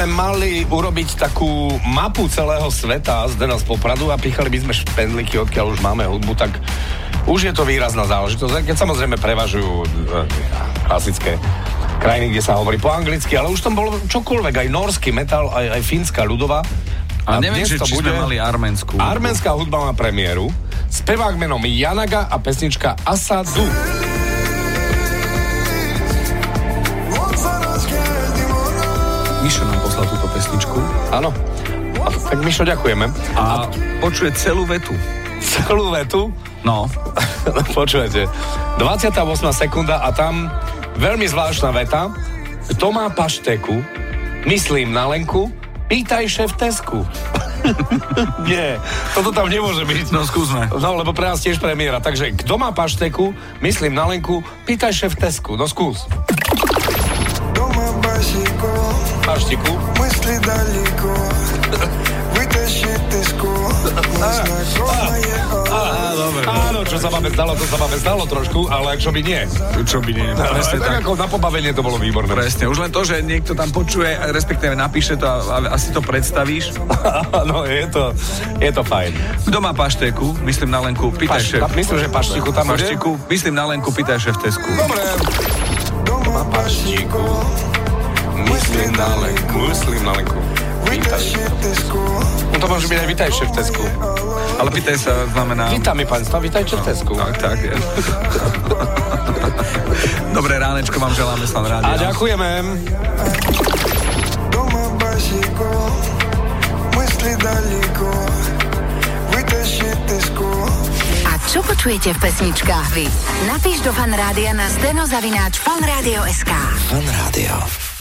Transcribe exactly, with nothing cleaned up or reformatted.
sme mali urobiť takú mapu celého sveta z Dena z Popradu a pichali by sme špendlíky, odkiaľ už máme hudbu, tak už je to výrazná záležitosť. Keď samozrejme prevažujú klasické krajiny, kde sa hovorí po anglicky, ale už tam bolo čokoľvek, aj norský metal, aj, aj fínska ľudová. A, a neviem, či, či bude... sme mali arménsku. Arménska hudba má premiéru. Spevák menom Janaga a pesnička Asadu. Mišo nám poslal túto pesničku. Áno. Tak Mišo, ďakujeme. A počuje celú vetu. Celú vetu? No. Počujete. dvadsiata ôsma sekunda a tam veľmi zvláštna veta. Kto má pašteku, myslím na Lenku, pýtaj šéf Tesku. Nie, toto tam nemôže byť. No skúsme. No, lebo pre nás tiež premiéra. Takže kto má pašteku, myslím na Lenku, pýtaj šéf Tesku. No skús. Paštiku. Mysli daleko. Vytaši Tesku. Áno, čo sa máme zdalo, to sa máme zdalo trošku, ale čo by nie. Čo by nie. Presne tak. Ako na pobavenie to bolo výborné. Presne, už len to, že niekto tam počuje, respektíve napíše to a asi to predstavíš. No, je to, je to fajn. Kto má paštéku, myslím na Lenku, pýtaj Paš, šéf. Myslím, že paštiku tam bude. Paštiku, myslím na Lenku, pýtaj šéf Tesku. Dobre. Kto má paštiku, myslím na Lenku, myslím na Lenku. No to môže byť aj vítaj šéf Tesku. Ale pýtaj sa znamená... Vítam mi pánstva, vítaj šéf Tesku. Tak, tak je. Dobré ránečko vám želáme sa na rádiu. A ďakujeme. A čo počujete v pesničkách vy? Napíš do Fan Rádia na steno zavináč fanradio bodka es ká. Fan Rádio.